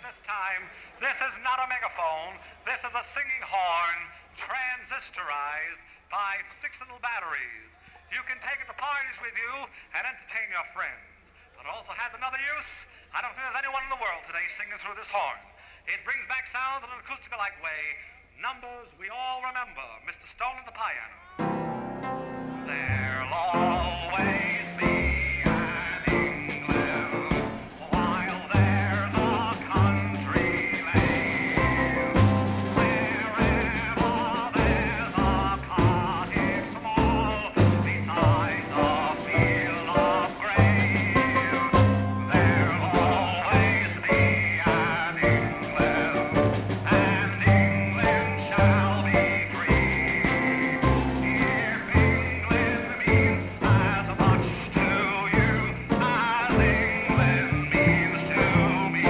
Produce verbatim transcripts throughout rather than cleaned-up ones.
this time. This is not a megaphone. This is a singing horn, transistorized by six little batteries. You can take it to parties with you and entertain your friends. But it also has another use. I don't think there's anyone in the world today singing through this horn. It brings back sounds in an acoustic-like way. Numbers we all remember. Mister Stone and the piano. There'll always be an England while there's a country lane. Wherever there's a cottage small beside the field of grain, there'll always be an England, and England shall be free. If England means as much to you as England means to me.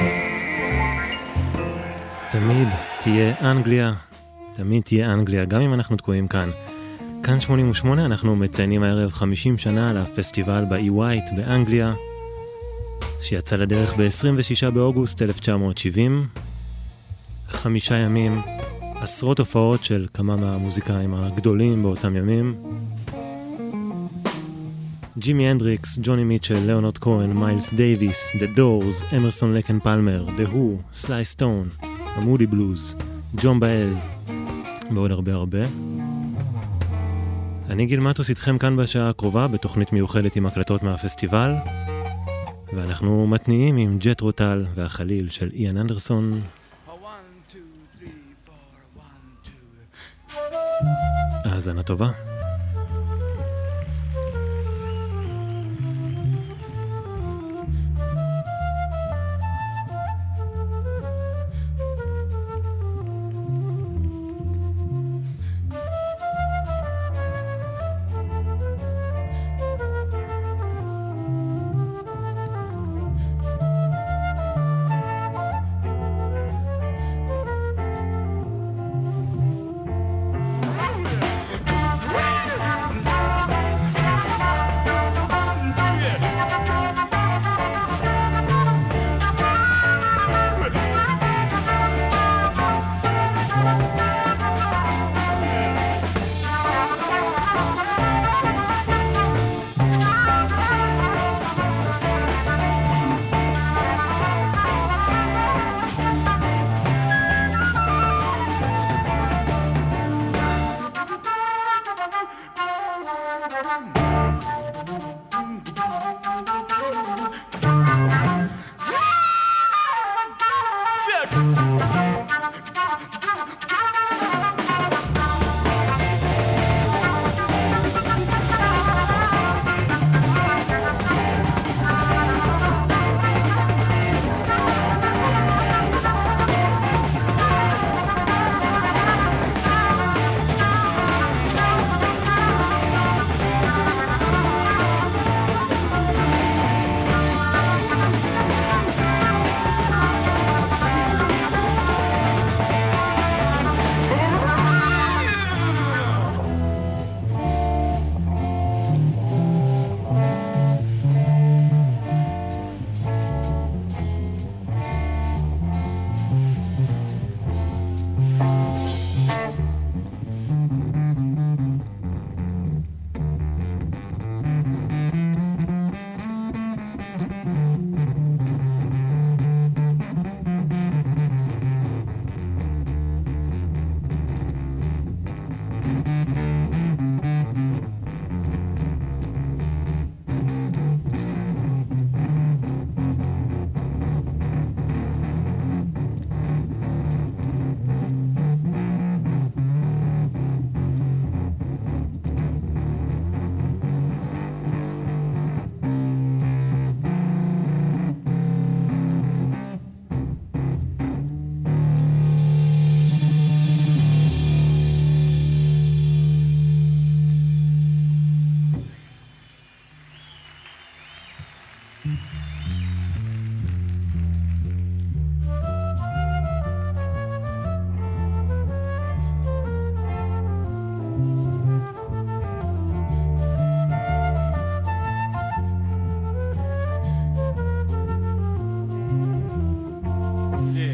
תמיד תהיה אנגליה, תמיד תהיה אנגליה, גם אם אנחנו תקועים כאן. כאן שמונים ושמונה, אנחנו מציינים הערב חמישים שנה לפסטיבל באי ווייט באנגליה, שיצא לדרך ב-עשרים ושישה באוגוסט אלף תשע מאות שבעים. חמישה ימים, עשרות הופעות של כמה מהמוזיקאים הגדולים באותם ימים. ג'ימי הנדריקס, ג'וני מיטשל, ליאונרד כהן, מיילס דייביס, The Doors, אמרסון לקן פלמר, The Who, סליי סטון, המודי בלוז, ג'ון באז ועוד הרבה הרבה. אני גיל מטוס איתכם כאן בשעה הקרובה בתוכנית מיוחדת עם הקלטות מהפסטיבל, ואנחנו מתניעים עם ג'ט רוטל והחליל של איאן אנדרסון. האזנה טובה. Yeah.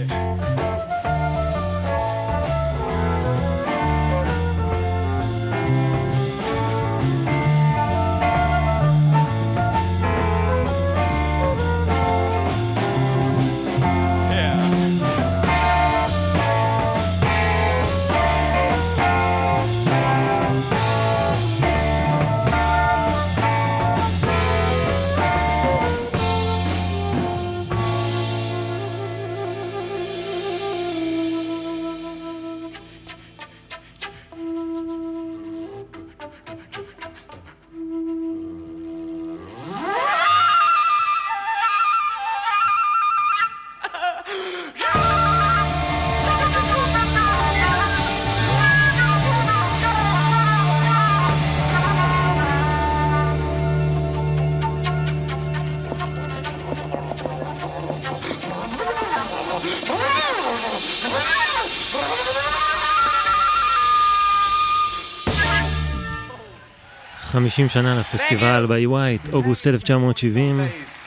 חמישים שנה לפסטיבל ב-E White, אוגוסט אלף תשע מאות שבעים.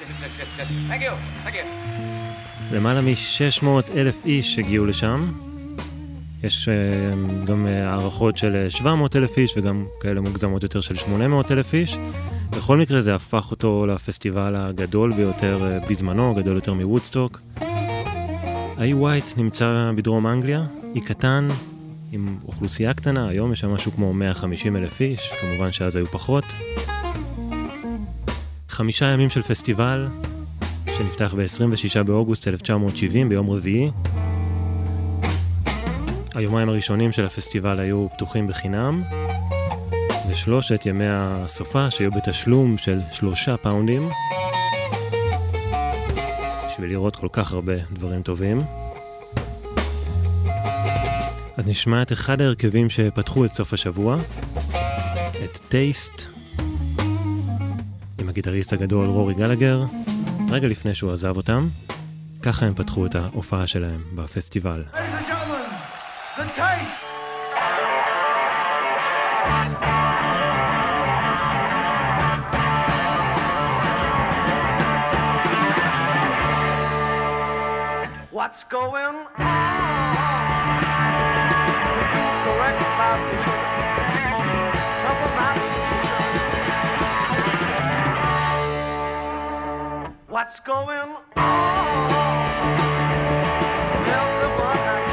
למעלה מ-שש מאות אלף איש הגיעו לשם. יש uh, גם uh, הערכות של שבע מאות אלף איש וגם כאלה מוגזמות יותר של שמונה מאות אלף איש. בכל מקרה זה הפך אותו לפסטיבל הגדול ביותר uh, בזמנו, גדול יותר מוודסטוק. ה-E White נמצא בדרום אנגליה, אי קטן, עם אוכלוסייה קטנה, היום יש שם משהו כמו מאה וחמישים אלף איש, כמובן שאז היו פחות. חמישה ימים של פסטיבל, שנפתח ב-עשרים ושישה באוגוסט אלף תשע מאות שבעים ביום רביעי. היומיים הראשונים של הפסטיבל היו פתוחים בחינם, ושלושת ימי הסופה שהיו בתשלום של שלושה פאונדים, בשביל לראות כל כך הרבה דברים טובים. אז נשמע את אחד ההרכבים שפתחו את סוף השבוע, את טייסט, עם הגיטריסט הגדול רורי גלגר, רגע לפני שהוא עזב אותם. ככה הם פתחו את ההופעה שלהם בפסטיבל. The Taste! What's going on? Correct my vision. Cover my vision. What's going on? Everyone has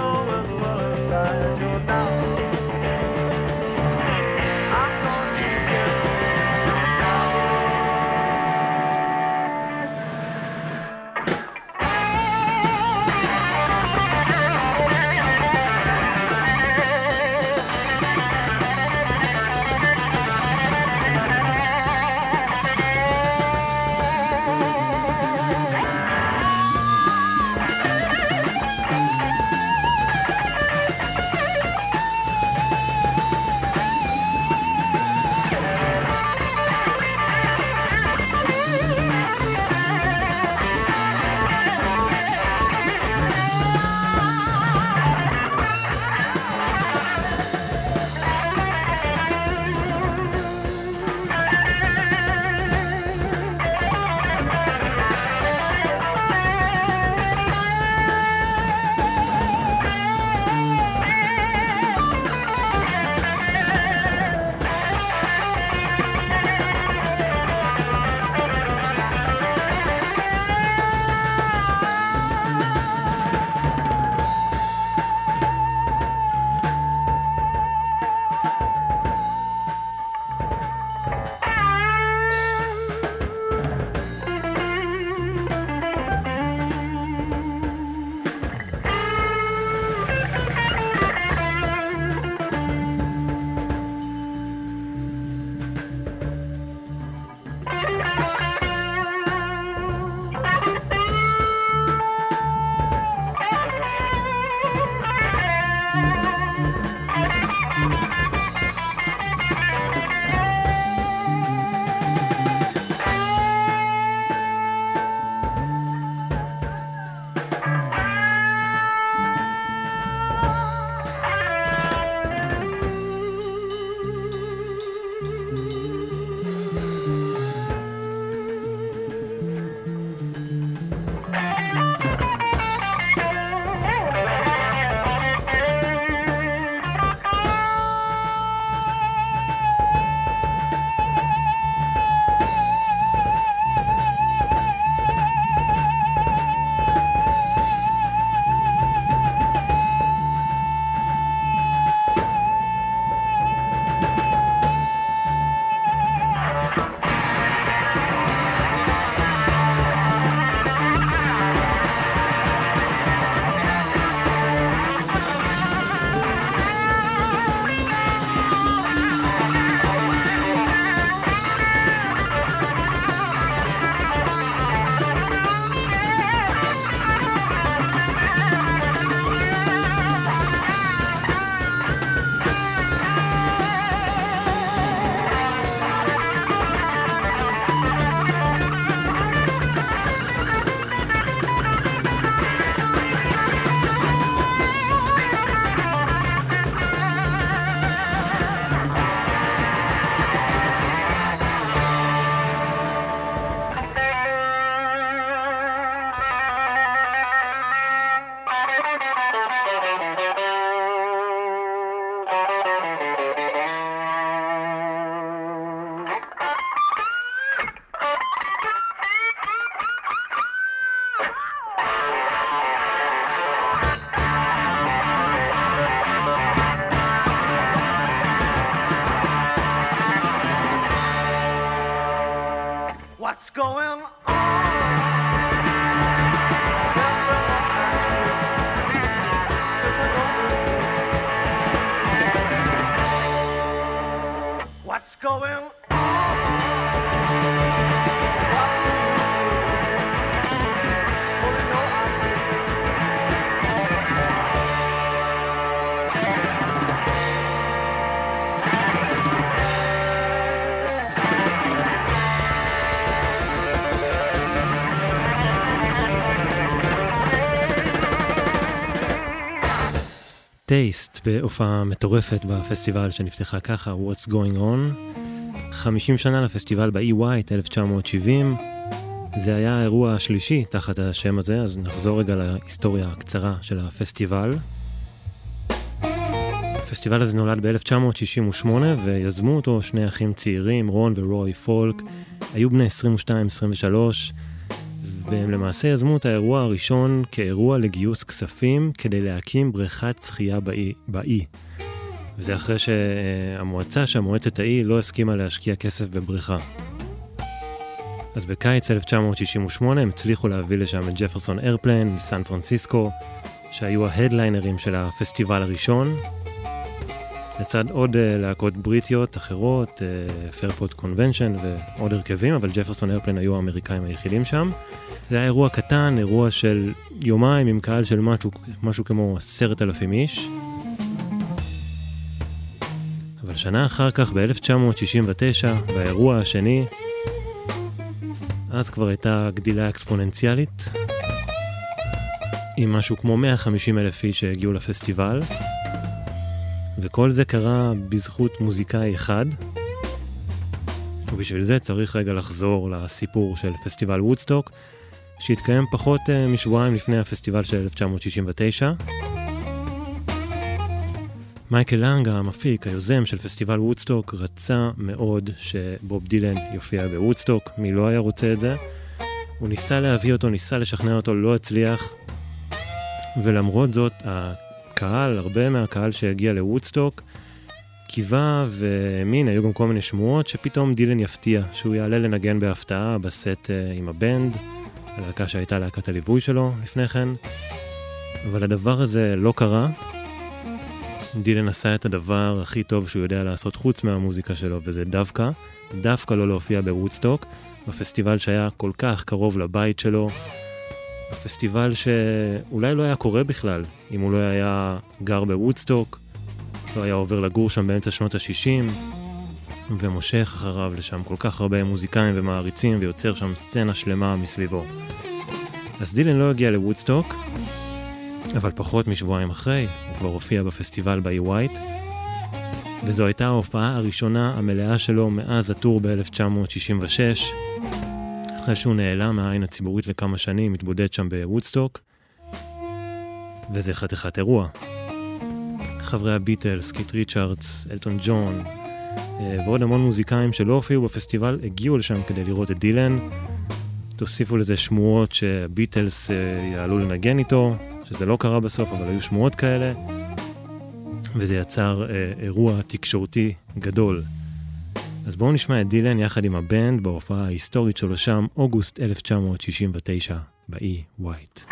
I'm going to What's going on? What's going on? טייסט בהופעה מטורפת בפסטיבל שנפתחה ככה, What's Going On. חמישים שנה לפסטיבל ב-E White, אלף תשע מאות שבעים. זה היה האירוע השלישי תחת השם הזה, אז נחזור רגע להיסטוריה הקצרה של הפסטיבל. הפסטיבל הזה נולד ב-אלף תשע מאות שישים ושמונה, ויזמו אותו שני אחים צעירים, רון ורוי פולק. היו בני עשרים ושתיים עשרים ושלוש, והם למעשה יזמו את האירוע הראשון כאירוע לגיוס כספים כדי להקים בריכת שחייה באי. באי. וזה אחרי שהמועצה, שהמועצת האי לא הסכימה להשקיע כסף בבריכה. אז בקיץ אלף תשע מאות שישים ושמונה הם הצליחו להביא לשם את ג'פרסון איירפליין מסן פרנסיסקו, שהיו ההדליינרים של הפסטיבל הראשון, לצד עוד להקות בריטיות אחרות, פרפורט קונבנשן ועוד הרכבים, אבל ג'פרסון איירפליין היו האמריקאים היחידים שם. זה היה אירוע קטן, אירוע של יומיים עם קהל של משהו, משהו כמו עשרת אלפים איש. אבל שנה אחר כך, ב-אלף תשע מאות שישים ותשע, באירוע השני, אז כבר הייתה גדילה אקספוננציאלית, עם משהו כמו מאה וחמישים אלף איש שהגיעו לפסטיבל, וכל זה קרה בזכות מוזיקאי אחד, ובשביל זה צריך רגע לחזור לסיפור של פסטיבל וודסטוק, שהתקיים פחות uh, משבועיים לפני הפסטיבל של אלף תשע מאות שישים ותשע. מייקל לנג, המפיק, היוזם של פסטיבל וודסטוק, רצה מאוד שבוב דילן יופיע בוודסטוק. מי לא היה רוצה את זה? הוא ניסה להביא אותו, ניסה לשכנע אותו, לא הצליח. ולמרות זאת, הקהל, הרבה מהקהל שהגיע לוודסטוק, קיווה והאמין, היו גם כל מיני שמועות שפתאום דילן יפתיע, שהוא יעלה לנגן בהפתעה בסט uh, עם הבנד, הלהקה שהייתה להקת הליווי שלו לפני כן. אבל הדבר הזה לא קרה. דילן עשה את הדבר הכי טוב שהוא יודע לעשות חוץ מהמוזיקה שלו, וזה דווקא, דווקא לא להופיע בוודסטוק, בפסטיבל שהיה כל כך קרוב לבית שלו, בפסטיבל שאולי לא היה קורה בכלל, אם הוא לא היה גר בוודסטוק, לא היה עובר לגור שם באמצע שנות ה-שישים, ומושך אחריו לשם כל כך הרבה מוזיקאים ומעריצים, ויוצר שם סצנה שלמה מסביבו. אז דילן לא הגיע לוודסטוק, אבל פחות משבועיים אחרי, הוא כבר הופיע בפסטיבל ב-E White, וזו הייתה ההופעה הראשונה המלאה שלו מאז הטור ב-אלף תשע מאות שישים ושש, אחרי שהוא נעלם מהעין הציבורית לכמה שנים, מתבודד שם בוודסטוק, וזה חתיכת אירוע. חברי הביטלס, קית' ריצ'רדס, אלטון ג'ון, ועוד המון מוזיקאים שלא הופיעו בפסטיבל, הגיעו לשם כדי לראות את דילן. תוסיפו לזה שמועות שהביטלס יעלו לנגן איתו, שזה לא קרה בסוף, אבל היו שמועות כאלה, וזה יצר אירוע תקשורתי גדול. אז בואו נשמע את דילן יחד עם הבנד בהופעה ההיסטורית שלו שם, אוגוסט אלף תשע מאות שישים ותשע, ב-E White.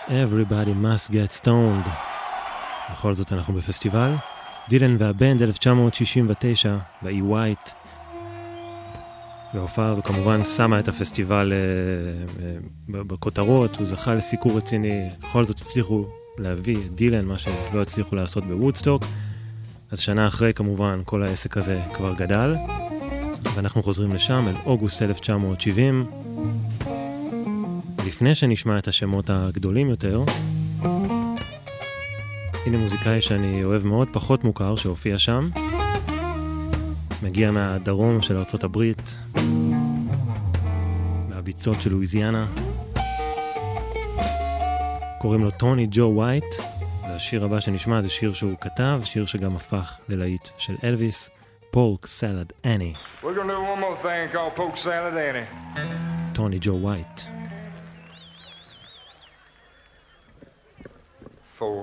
Everybody must get stoned. בכל זאת אנחנו בפסטיבל. דילן והבנד אלף תשע מאות שישים ותשע באי ווייט. וההופעה הזו כמובן שמה את הפסטיבל אה, אה, בכותרות, הוא זכה לסיקור רציני, בכל זאת הצליחו להביא את דילן, מה שלא הצליחו לעשות בוודסטוק. אז שנה אחרי כמובן כל העסק הזה כבר גדל, ואנחנו חוזרים לשם אל אוגוסט אלף תשע מאות שבעים. לפני שנשמע את השמות הגדולים יותר, הנה מוזיקאי שאני אוהב מאוד, פחות מוכר, שהופיע שם. מגיע מהדרום של ארצות הברית, מהביצות של לואיזיאנה. קוראים לו טוני ג'ו ווייט, והשיר הבא שנשמע זה שיר שהוא כתב, שיר שגם הפך ללהיט של אלוויס, פורק סלד אני. We're gonna do one more thing called Pork Salad Annie. טוני ג'ו ווייט. Four.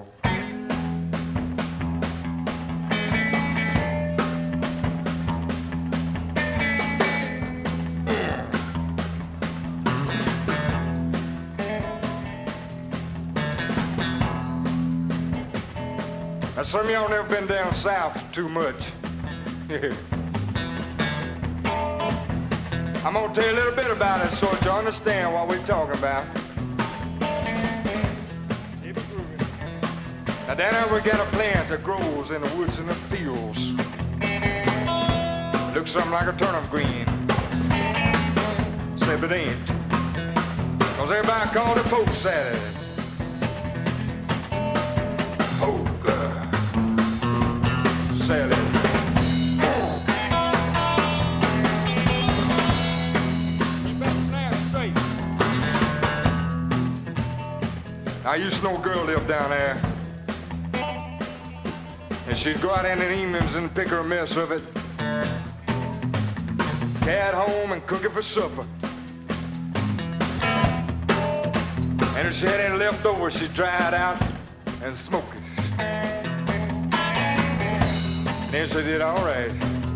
Now, some of y'all never been down south too much. I'm gonna tell you a little bit about it so that you understand what we're talking about. Now, down there we got a plant that grows in the woods and the fields. Looks something like a turnip green. Except it ain't. Cause everybody called it poke salad. Poke salad. I used to know a girl lived down there. And she'd go out in the evenings and pick her a mess of it. Carry it home and cook it for supper. And if she had any left over, she'd dry it out and smoke it. Then she did all right.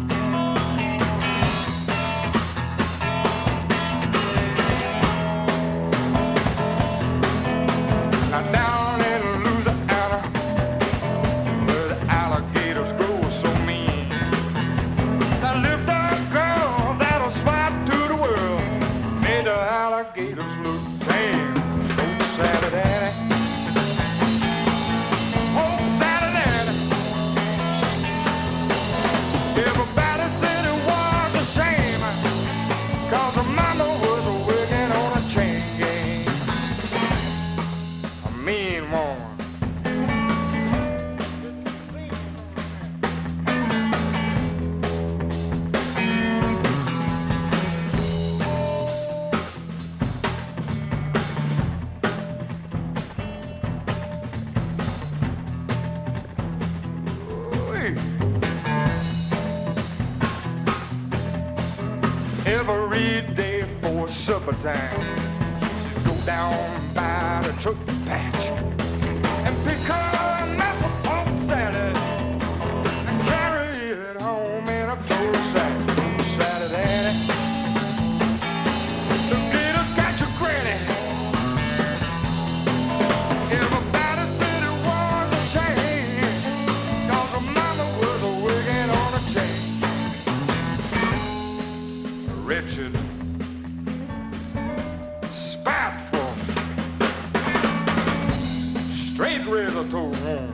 Now down in Louisiana, where the alligators grow so mean, there lived a girl that'll swipe to the world, made the alligators look tame. Old Sally Daddy, old Sally Daddy. Everybody said it was a shame, 'cause her mama was working on a chain gang. A mean woman. Ooh-wee. Every day for supper time, she'd go down by the truck patch and pick her a mess of pork salad and carry it home in a tow sack. Salad Annie, the gators got your granny. Everybody said it was a shame, 'cause her mama was working on a chain. Wretched, spiteful, straight razor to home.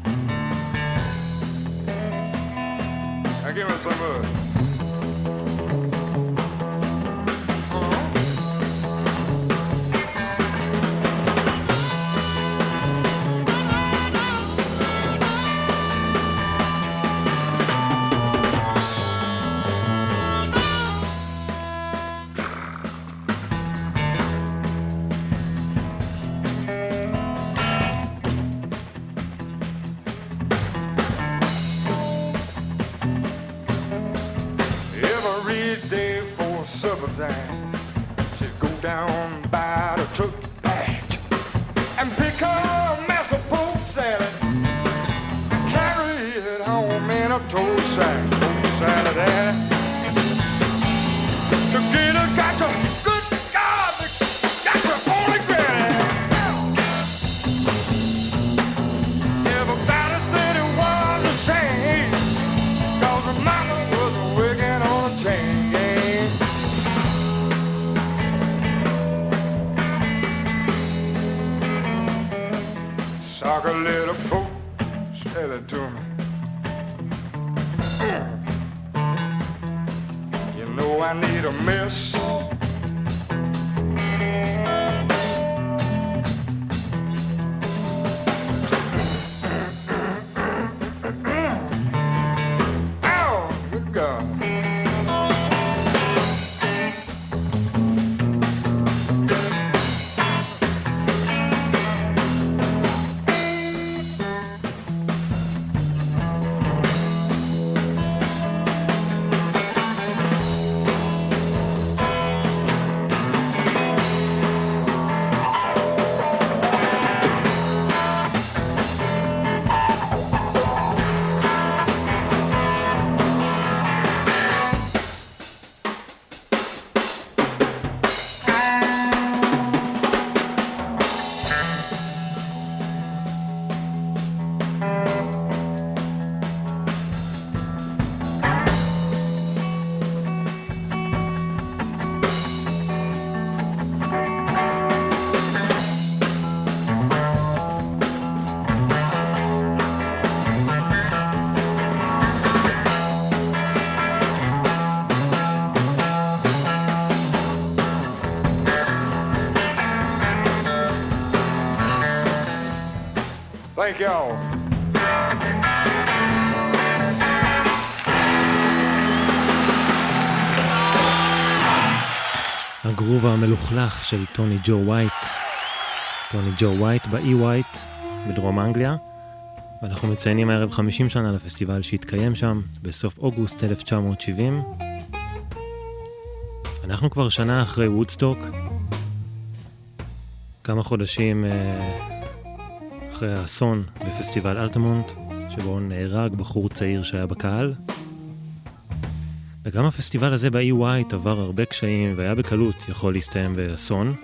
Now give me some of it. Time. She'd go down by the truck patch and pick her a mess of pork salad and carry it home in a tow sack. Pork salad, Annie. The gator got your good God, got your holy granny. like a little boat, said it to me. You know I need a miss. Thank y'all. הגרוב המלוכלך של טוני ג'ו ווייט. טוני ג'ו ווייט באי ווייט בדרום אנגליה. ואנחנו מציינים הערב חמישים שנה לפסטיבל שהתקיים שם בסוף אוגוסט אלף תשע מאות שבעים. אנחנו כבר שנה אחרי וודסטוק. כמה חודשים אחרי האסון בפסטיבל אלטמונט, שבו נהרג בחור צעיר שהיה בקהל. וגם הפסטיבל הזה באי ווייט עבר הרבה קשיים והיה בקלות יכול להסתיים באסון.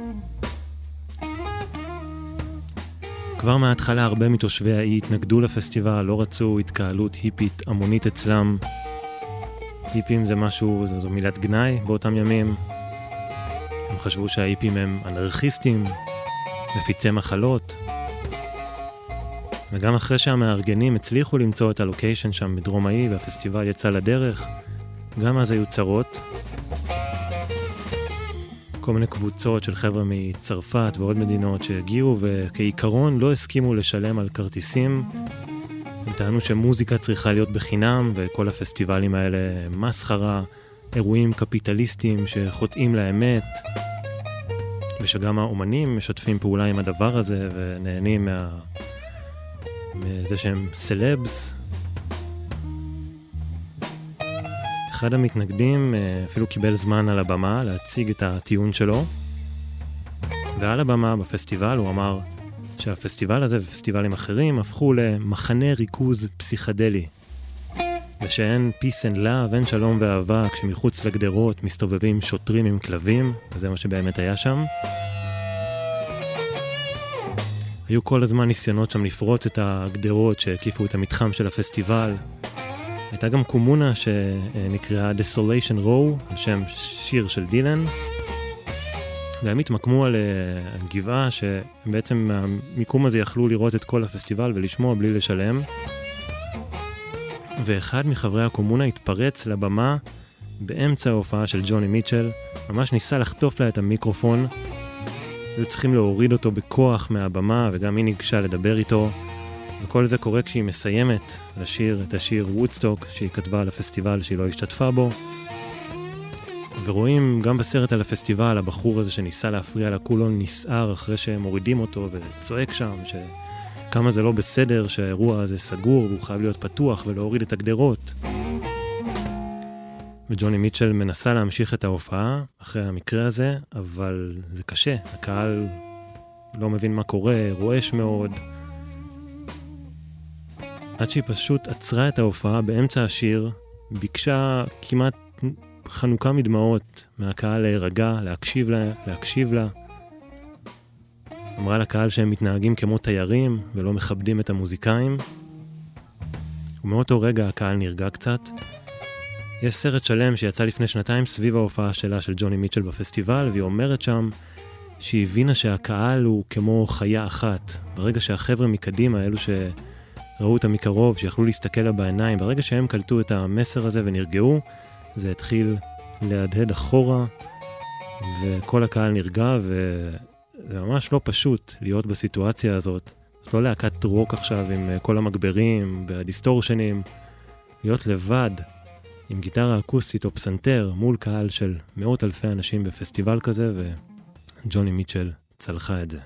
כבר מההתחלה הרבה מתושבי האי התנגדו לפסטיבל, לא רצו התקהלות היפית המונית אצלם. היפים זה משהו, זו, זו מילת גנאי באותם ימים. הם חשבו שההיפים הם אנרכיסטים, מפיצי מחלות. וגם אחרי שהמארגנים הצליחו למצוא את הלוקיישן שם בדרום האי והפסטיבל יצא לדרך, גם אז היו צרות. כל מיני קבוצות של חבר'ה מצרפת ועוד מדינות שהגיעו וכעיקרון לא הסכימו לשלם על כרטיסים. הם טענו שמוזיקה צריכה להיות בחינם וכל הפסטיבלים האלה מסחרה, אירועים קפיטליסטיים שחוטאים לאמת, ושגם האומנים משתפים פעולה עם הדבר הזה ונהנים מה... מזה שהם סלבס. אחד המתנגדים אפילו קיבל זמן על הבמה להציג את הטיעון שלו, ועל הבמה בפסטיבל הוא אמר שהפסטיבל הזה ופסטיבלים אחרים הפכו למחנה ריכוז פסיכדלי, ושאין peace and love, אין שלום ואהבה כשמחוץ לגדרות מסתובבים שוטרים עם כלבים, וזה מה שבאמת היה שם. היו כל הזמן ניסיונות שם לפרוץ את הגדרות שהקיפו את המתחם של הפסטיבל. הייתה גם קומונה שנקראה Desolation Row, על שם שיר של דילן. והם התמקמו על גבעה שבעצם מהמיקום הזה יכלו לראות את כל הפסטיבל ולשמוע בלי לשלם. ואחד מחברי הקומונה התפרץ לבמה באמצע ההופעה של ג'וני מיטשל, ממש ניסה לחטוף לה את המיקרופון. היו צריכים להוריד אותו בכוח מהבמה, וגם היא ניגשה לדבר איתו. וכל זה קורה כשהיא מסיימת לשיר את השיר וודסטוק שהיא כתבה על הפסטיבל שהיא לא השתתפה בו. ורואים גם בסרט על הפסטיבל הבחור הזה שניסה להפריע לה כולו נסער אחרי שהם מורידים אותו וצועק שם שכמה זה לא בסדר שהאירוע הזה סגור והוא חייב להיות פתוח ולהוריד את הגדרות. וג'וני מיטשל מנסה להמשיך את ההופעה אחרי המקרה הזה, אבל זה קשה, הקהל לא מבין מה קורה, רועש מאוד. עד שהיא פשוט עצרה את ההופעה באמצע השיר, ביקשה כמעט חנוכה מדמעות מהקהל להירגע, להקשיב לה, להקשיב לה. אמרה לקהל שהם מתנהגים כמו תיירים ולא מכבדים את המוזיקאים. ומאותו רגע הקהל נרגע קצת. יש סרט שלם שיצא לפני שנתיים סביב ההופעה שלה של ג'וני מיטשל בפסטיבל, והיא אומרת שם שהיא הבינה שהקהל הוא כמו חיה אחת. ברגע שהחבר'ה מקדימה, אלו שראו אותה מקרוב, שיכלו להסתכל לה בעיניים, ברגע שהם קלטו את המסר הזה ונרגעו, זה התחיל להדהד אחורה, וכל הקהל נרגע, וזה ממש לא פשוט להיות בסיטואציה הזאת. זאת לא להקת רוק עכשיו עם כל המגברים והדיסטורשנים, להיות לבד עם גיטרה אקוסטית או פסנתר מול קהל של מאות אלפי אנשים בפסטיבל כזה, וג'וני מיטשל צלחה את זה.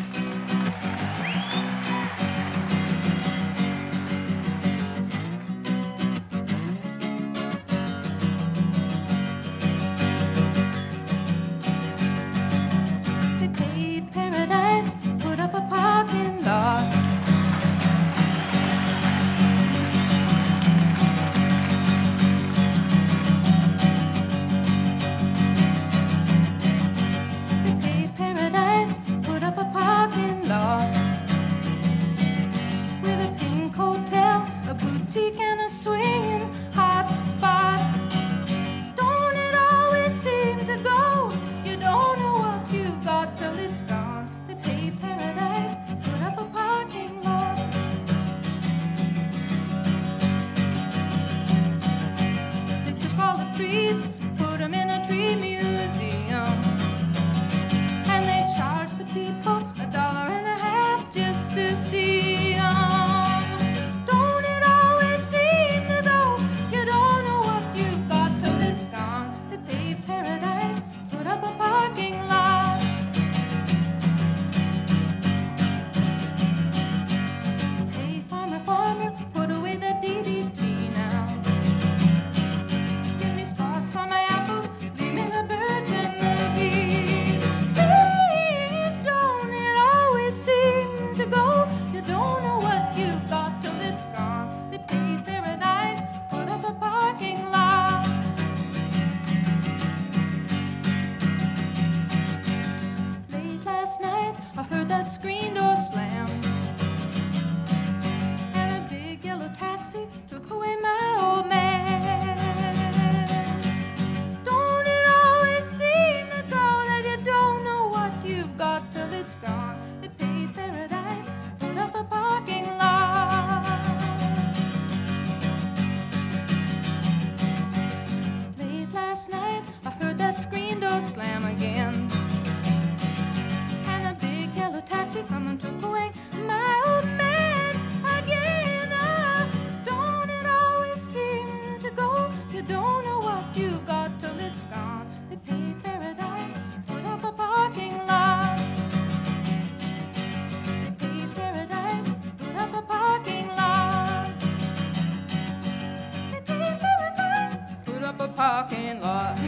parking lot.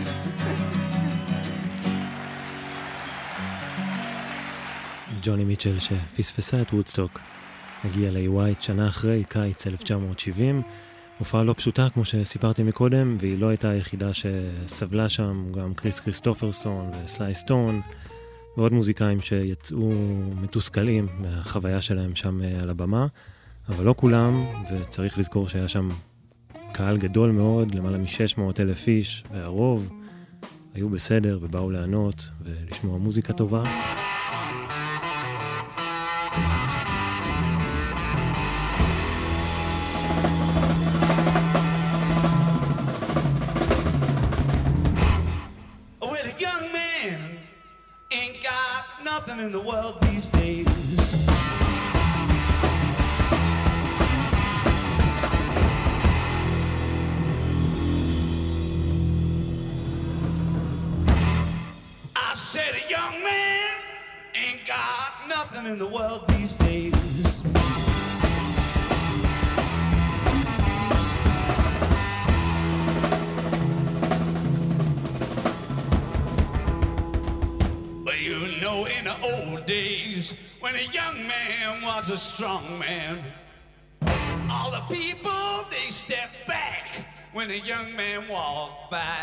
ג'וני מיטשל שפספסה את וודסטוק, הגיע ל-איי וואי שנה אחרי, קיץ אלף תשע מאות שבעים, הופעה לא פשוטה כמו שסיפרתי מקודם, והיא לא הייתה היחידה שסבלה שם, גם קריס קריסטופרסון וסליי סטון, ועוד מוזיקאים שיצאו מתוסכלים מהחוויה שלהם שם על הבמה, אבל לא כולם, וצריך לזכור שהיה שם קהל גדול מאוד, למעלה מ-שש מאות אלף איש, והרוב היו בסדר ובאו לענות ולשמוע מוזיקה טובה. In the world these days, I said a young man ain't got nothing in the world these days. In the old days, when a young man was a strong man, all the people, they stepped back when a young man walked by.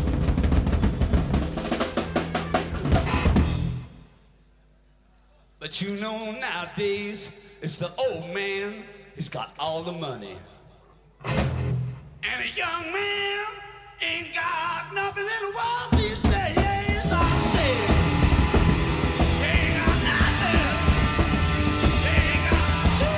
But But you know nowadays, it's the old man, he's got all the money. And a young man ain't got nothing in the world these days, I say. Ain't got nothing. Ain't got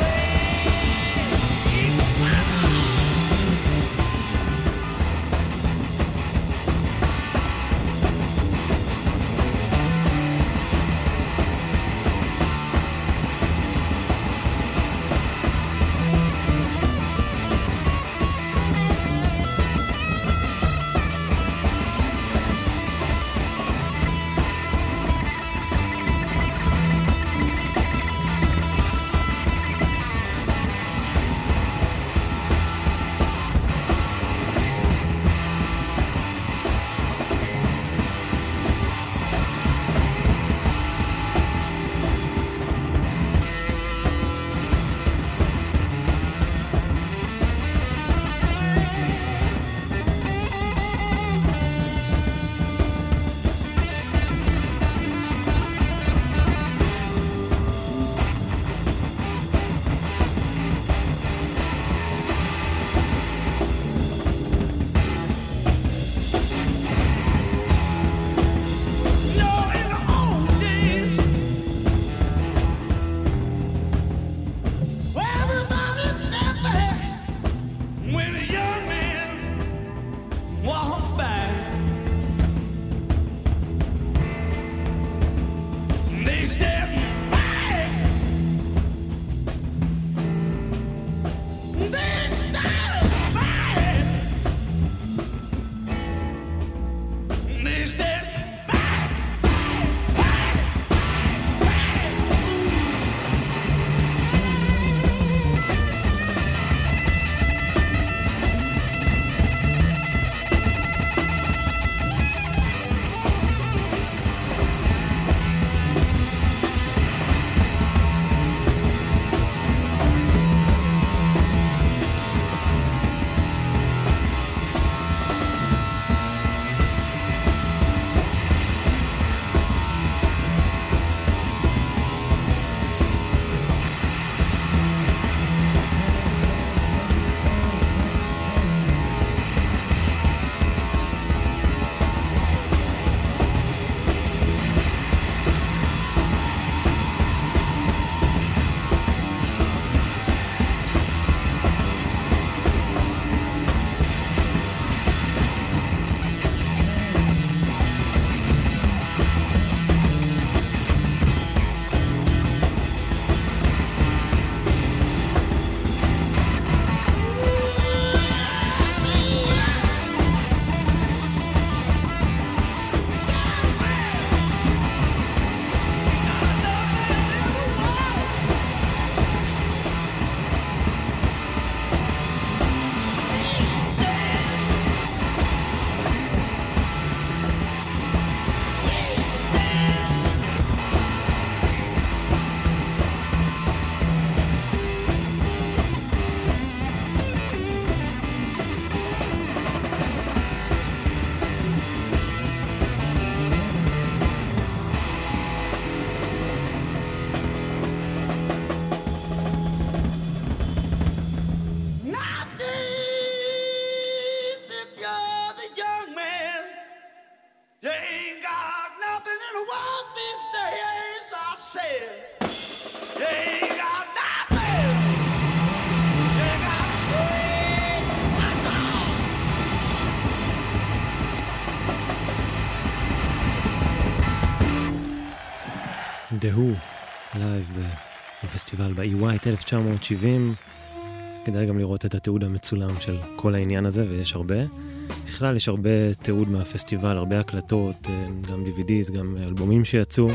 The Who, לייב בפסטיבל ב-E White אלף תשע מאות שבעים. כדאי גם לראות את התיעוד המצולם של כל העניין הזה, ויש הרבה. בכלל יש הרבה תיעוד מהפסטיבל, הרבה הקלטות, גם די וי דיז, גם אלבומים שיצאו.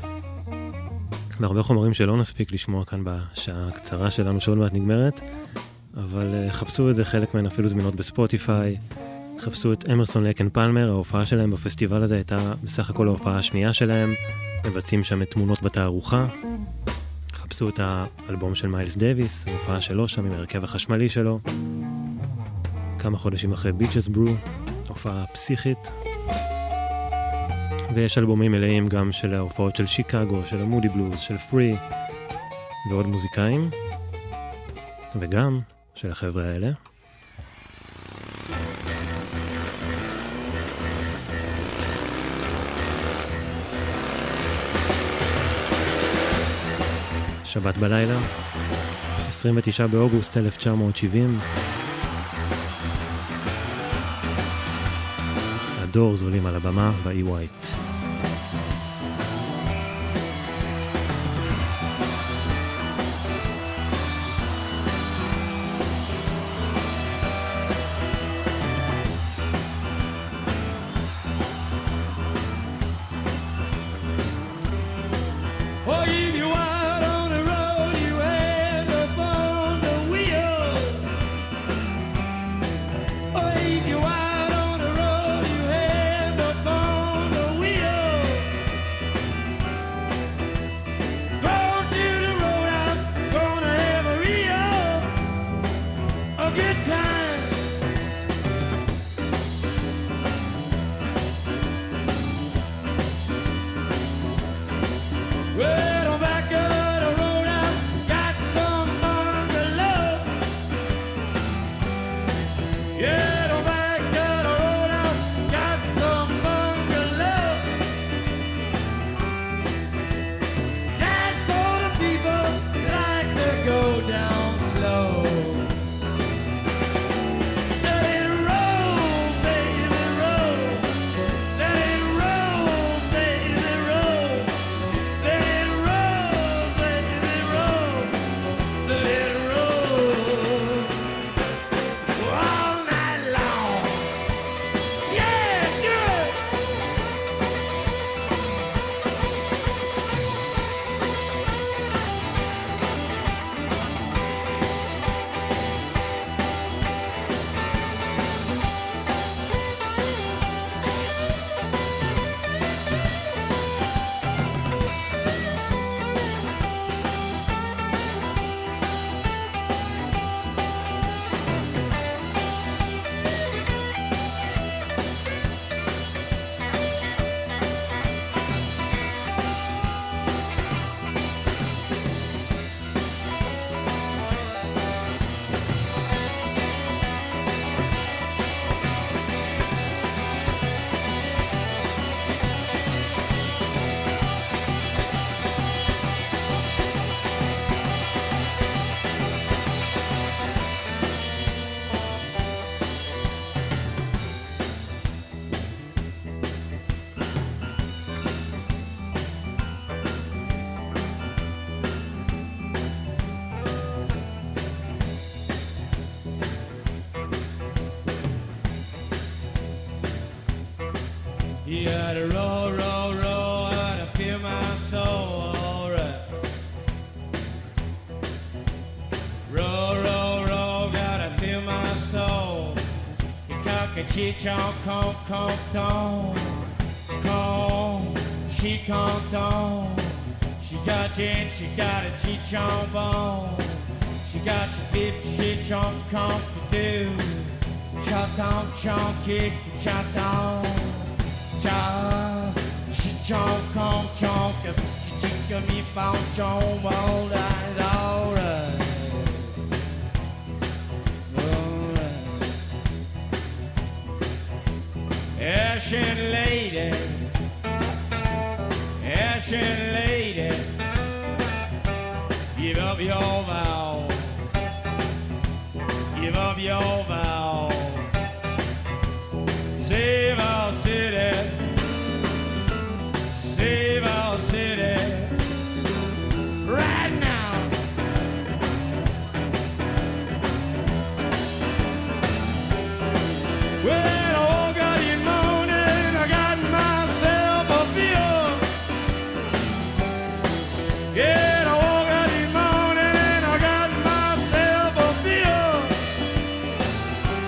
והרבה חומרים שלא נספיק לשמוע כאן בשעה הקצרה שלנו שעוד מעט נגמרת. אבל חפשו את זה, חלק מהן אפילו זמינות בספוטיפיי. חפשו את אמרסון לייק אנד פלמר, ההופעה שלהם בפסטיבל הזה הייתה בסך הכל ההופעה השנייה שלהם. מבצעים שם את תמונות בתערוכה. חפשו את האלבום של מיילס דייביס, ההופעה שלו שם עם הרכב החשמלי שלו. כמה חודשים אחרי ביצ'ס ברו, הופעה פסיכית. ויש אלבומים מלאים גם של ההופעות של שיקגו, של המודי בלוז, של פרי ועוד מוזיקאים, וגם של החבר'ה האלה. שבת בלילה, עשרים ותשעה באוגוסט אלף תשע מאות שבעים. הדורס עולים על הבמה באי ווייט. You gotta roll, roll, roll, and I feel my soul, alright. Roll, roll, roll, gotta feel my soul. You cock a chichon, conk, conk, ton. Conk, she conk, ton. She got gin, she got a chichon bone. She got your fifty chichon, conk, to do. Shot on, chon, kick, shot on. She chomp, chomp, chomp, she chicken me found chomp, all right, all right, all right. Ashen lady, ashen lady, give up your vow, give up your vow, save our city. Save our city right now. Well, I woke up in the morning, I got myself a feel. Yeah, I woke up in the morning and I got myself a feel.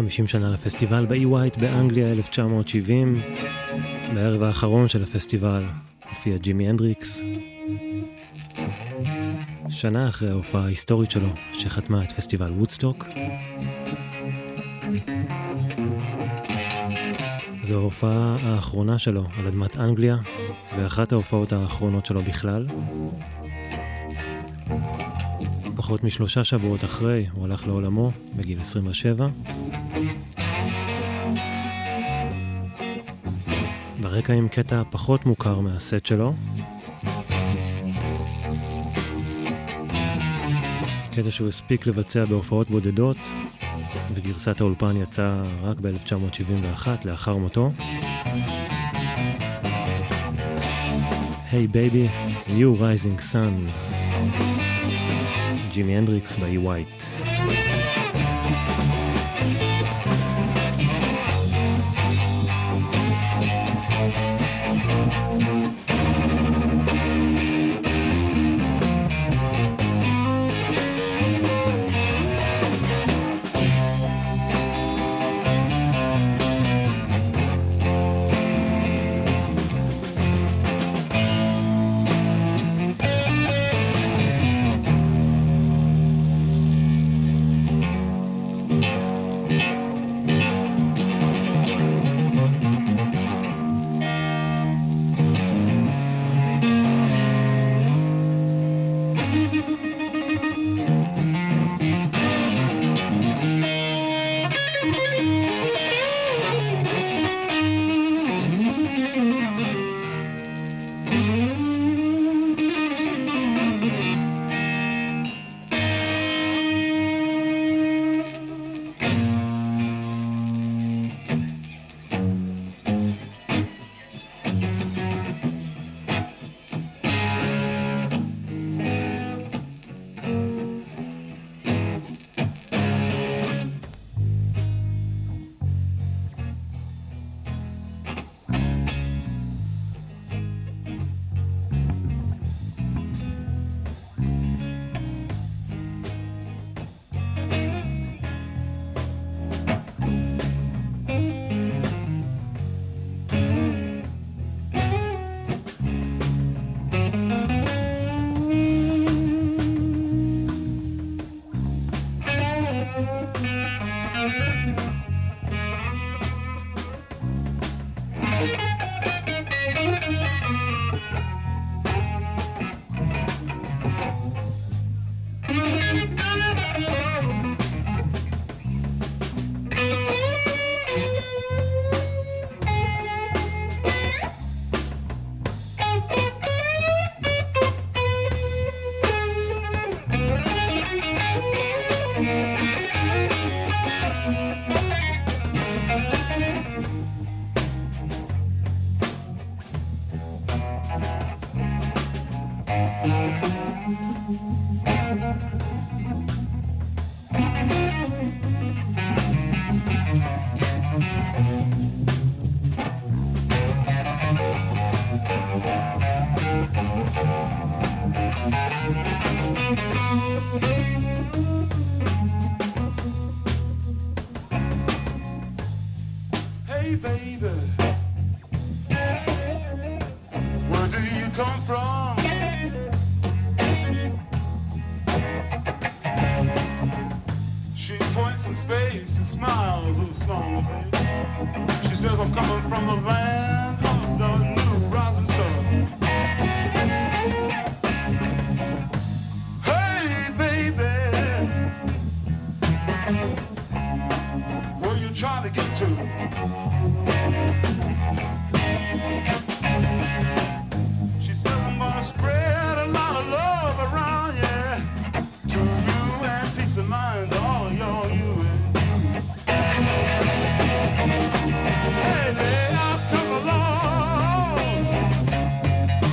חמישים שנה לפסטיבל באי ווייט באנגליה אלף תשע מאות שבעים. בערב האחרון של הפסטיבל הופיע ג'ימי הנדריקס. שנה אחרי ההופעה ההיסטורית שלו שחתמה את פסטיבל וודסטוק. זו ההופעה האחרונה שלו על אדמת אנגליה, ואחת ההופעות האחרונות שלו בכלל. פחות משלושה שבועות אחרי הוא הלך לעולמו בגיל עשרים ושבע. ברקע עם קטע פחות מוכר מהסט שלו. קטע שהוא הספיק לבצע בהופעות בודדות, וגרסת האולפן יצאה רק ב-אלף תשע מאות שבעים ואחת לאחר מותו. Hey baby, new rising sun. ג'ימי הנדריקס באי ווייט. Hey baby, where do you come from? She points in space and smiles with a smile on her face. She says I'm coming from the land of the new rising sun. Hey baby, where you trying to get to? She says I'm gonna spread a lot of love around, yeah, to you and peace of mind to all of y'all, you and you. Hey, babe, I've come along.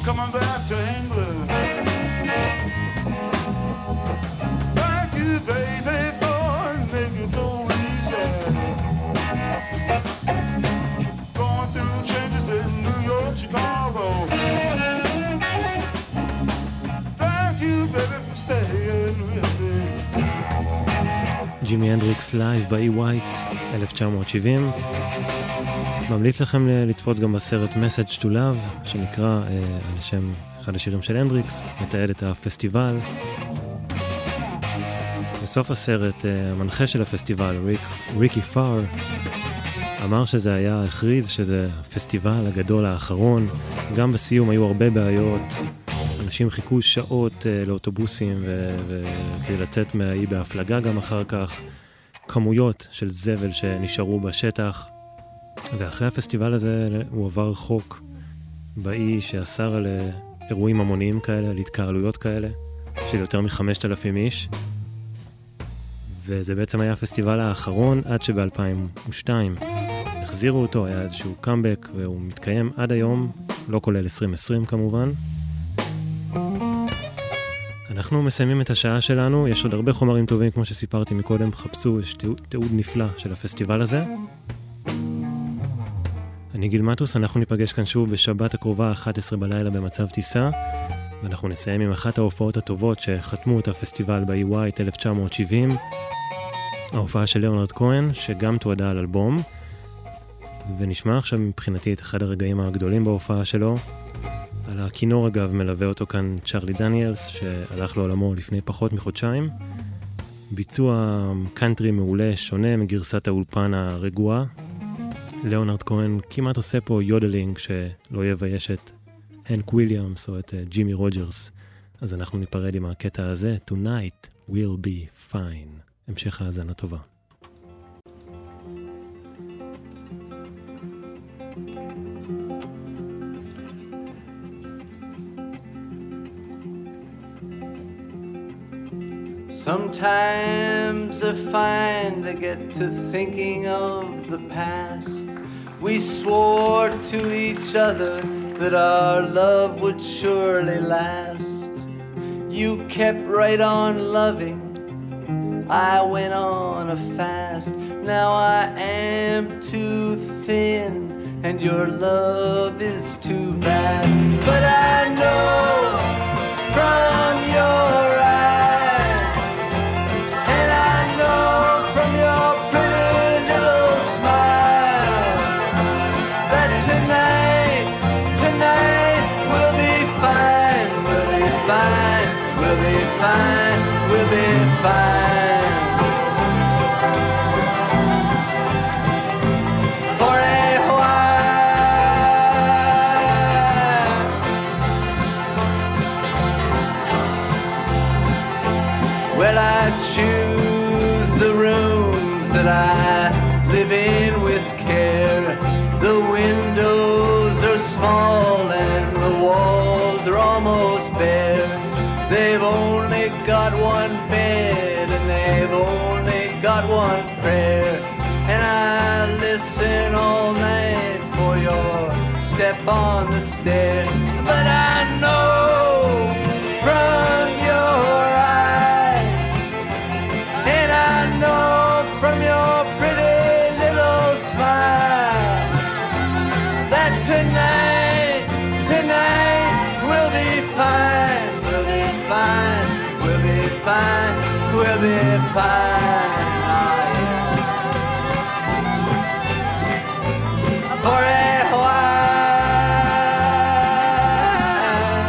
coming back to England. Thank you, baby, for making it so easy. Going through the changes in New York, Chicago. Thank you, baby, for staying with me. ג'ימי הנדריקס לייב באי ווייט, אלף תשע מאות שבעים. ממליץ לכם לצפות גם בסרט Message to Love, שנקרא אה, על שם אחד השירים של הנדריקס, מתעד את הפסטיבל. בסוף הסרט, אה, המנחה של הפסטיבל, ריק, ריקי פאר, אמר שזה היה, הכריז שזה הפסטיבל הגדול האחרון. גם בסיום היו הרבה בעיות, אנשים חיכו שעות אה, לאוטובוסים וכדי לצאת מהאי בהפלגה גם אחר כך, כמויות של זבל שנשארו בשטח. ואחרי הפסטיבל הזה הוא עבר חוק באי שאסר על אירועים המוניים כאלה, על התקהלויות כאלה, של יותר מחמשת אלפים איש. וזה בעצם היה הפסטיבל האחרון עד שב-אלפיים ושתיים החזירו אותו, היה איזשהו קאמבק, והוא מתקיים עד היום, לא כולל עשרים עשרים כמובן. אנחנו מסיימים את השעה שלנו, יש עוד הרבה חומרים טובים כמו שסיפרתי מקודם, חפשו, יש תיעוד, תיעוד נפלא של הפסטיבל הזה. אני גיל מטוס, אנחנו ניפגש כאן שוב בשבת הקרובה, אחת עשרה בלילה במצב טיסה, ואנחנו נסיים עם אחת ההופעות הטובות שחתמו את הפסטיבל באי ווייט אלף תשע מאות שבעים, ההופעה של ליאונרד כהן, שגם תועדה על אלבום, ונשמע עכשיו מבחינתי את אחד הרגעים הגדולים בהופעה שלו. על הכינור אגב מלווה אותו כאן צ'רלי דניאלס, שהלך לעולמו לפני פחות מחודשיים. ביצוע קאנטרי מעולה, שונה מגרסת האולפן הרגועה. ליאונרד כהן כמעט עושה פה יודלינג שלא יבייש את הנק וויליאמס או את ג'ימי רוג'רס. אז אנחנו ניפרד עם הקטע הזה, Tonight will be fine. המשך האזנה טובה. Sometimes I find I get to thinking of the past. We swore to each other that our love would surely last. You kept right on loving, I went on a fast. Now I am too thin and your love is too vast. But I know from your eyes, and I know from your pretty little smile, that tonight, tonight will be fine, will be fine, will be fine, will be fine. Choose the rooms that I live in with care. The windows are small and the walls are almost bare. They've only got one bed and they've only got one prayer. And I listen all night for your step on the stair. But I know from your tonight, tonight will be fine, will be fine, will be fine, will be fine. Oh, yeah. For a while.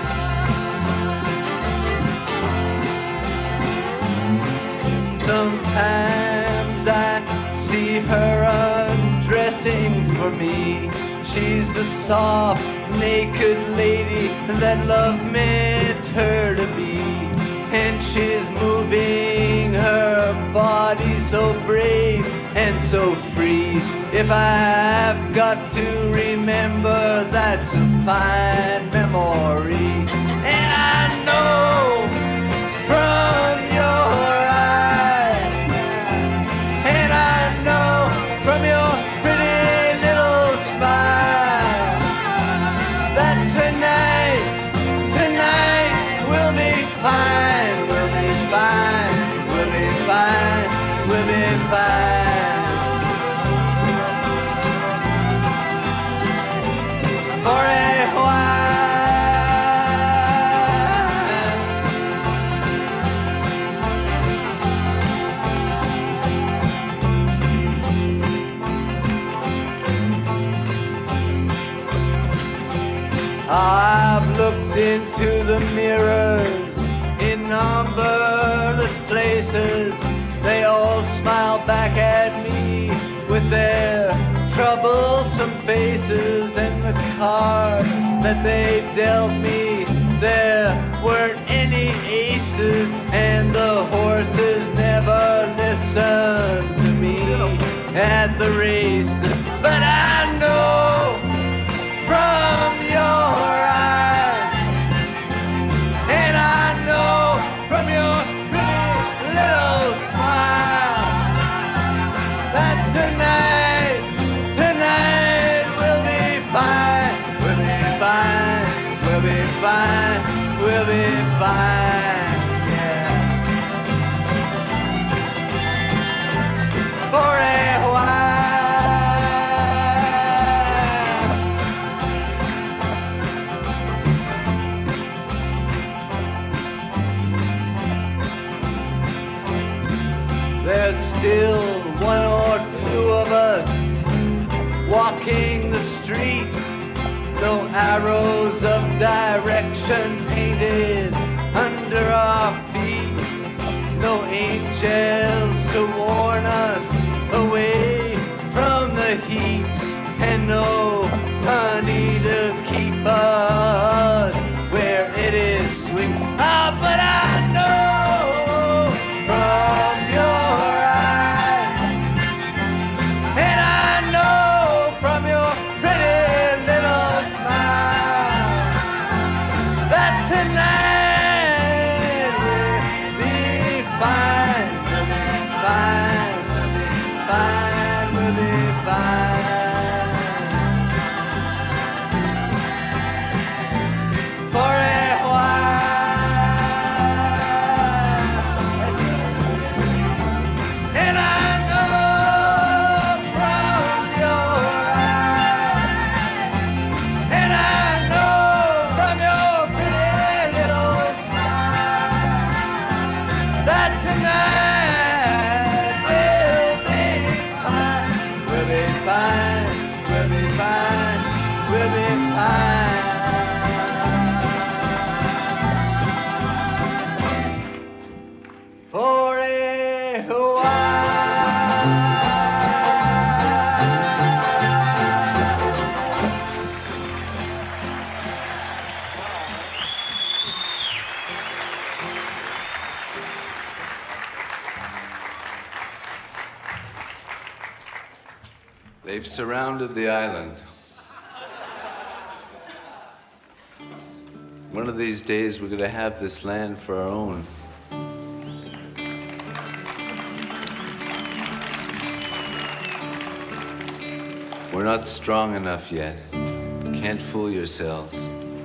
Sometimes I see her undressing for me. She's the soft, naked lady that love meant her to be. And she's moving her body so brave and so free. If I've got to remember, that's a fine memory. And I know from your eyes, and I know from your pretty little smile, that tonight, I've looked into the mirrors in numberless places. They all smile back at me with their troublesome faces, and the cards that they dealt me, there weren't any aces, and the horses never listened to me at the races. But I know from your eyes, and I know from your pretty little smile, that tonight, tonight we'll be fine, we'll be fine, we'll be fine, we'll be fine, yeah. For a while. There's still one or two of us walking the street, no arrows of direction painted under our feet, no angels to warn us away from the heat, and no honey to keep us where it is sweet. Ah, but I know from your eyes, and I know from your pretty little smile, that tonight we'll be fine, we'll be fine, we'll be fine, we'll be fine. For a while, and I know from your eyes, and I know from your pretty little smile, that tonight we'll be fine, we'll be fine, we'll be fine, we'll be fine. For a They've surrounded the island. One of these days we're going to have this land for our own. We're not strong enough yet. Can't fool yourselves.